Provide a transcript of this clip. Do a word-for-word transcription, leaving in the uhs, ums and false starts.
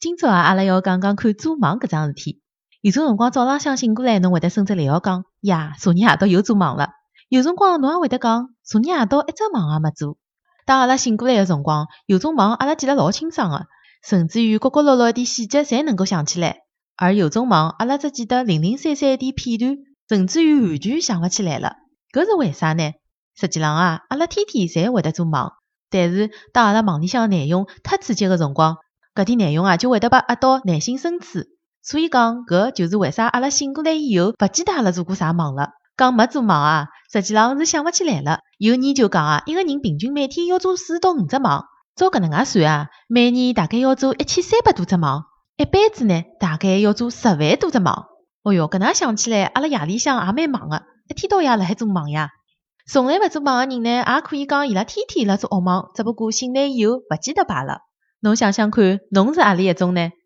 今朝啊，阿拉要讲讲看做梦搿桩事体。有种辰光早浪向醒过来，侬会得甚至来号讲，呀，昨日夜到又做梦了。有辰光侬也会得讲，昨日夜到一只梦也没做。当阿拉醒过来的辰光，有种梦阿拉记得老清爽的，甚至于角角落落一点细节侪能够想起来。而有种梦阿拉只记得零零散散一点片段，甚至于完全想勿起来了。搿是为啥呢？实际上啊，阿拉天天侪会得做梦，但是当阿拉梦里向内容太刺激的辰光，搿点内容啊就会得被压到内心深处。所以讲搿就是为啥阿拉醒过来以后勿记得阿拉做过啥梦了。讲没做梦啊，实际上是想勿起来了。有研究讲啊，一个人平均每天要做四到五只梦。照搿能介算啊，每年大概要做一千三百多只梦，一辈子呢大概要做十万多只梦。哦哟，搿能想起来，阿拉夜里向也蛮忙的，一天到夜辣海做梦呀。从来勿做梦的人呢，也可以讲伊拉天天辣做噩梦，只不过醒来以后勿记得罢了。侬想想看，侬是何里一种呢？